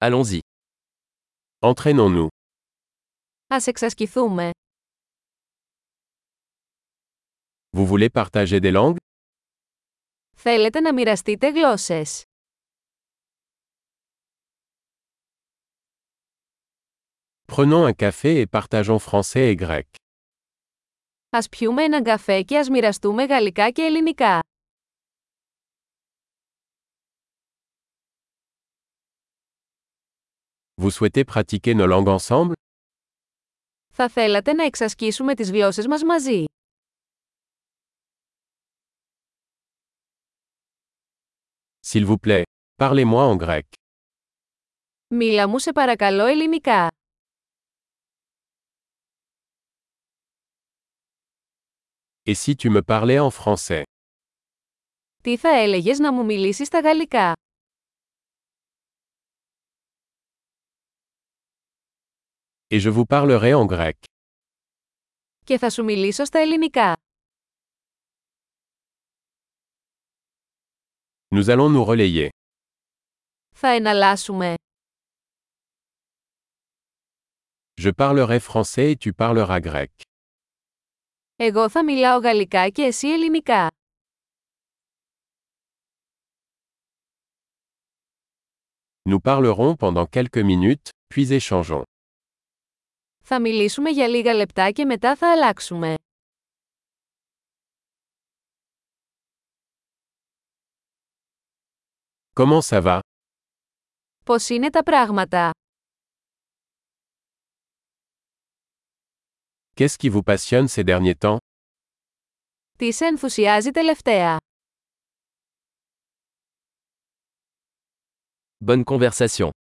Allons-y. Entraînons-nous. Ας εξασκηθούμε. Vous voulez partager des langues? Θέλετε να μοιραστείτε γλώσσες? Prenons un café et partageons français et grec. Ας πιούμε έναν καφέ και ας μοιραστούμε γαλλικά και ελληνικά. Vous souhaitez pratiquer nos langues ensemble? Θα θέλατε να εξασκήσουμε τις γλώσσες μας μαζί? S'il vous plaît, parlez-moi en grec. Μίλα μου σε παρακαλώ ελληνικά. Et si tu me parlais en français? Τι θα έλεγες να μου μιλήσεις στα γαλλικά? Et je vous parlerai en grec. Και θα σου μιλήσω στα ελληνικά. Nous allons nous relayer. Θα εναλλάσσουμε. Je parlerai français et tu parleras grec. Εγώ θα μιλάω γαλλικά και εσύ ελληνικά. Nous parlerons pendant quelques minutes, puis échangeons. Θα μιλήσουμε για λίγα λεπτά και μετά θα αλλάξουμε. Comment ça va? Πώς είναι τα πράγματα? Qu'est-ce qui vous passionne ces derniers temps? Τι σε ενθουσιάζει τελευταία? Bonne conversation.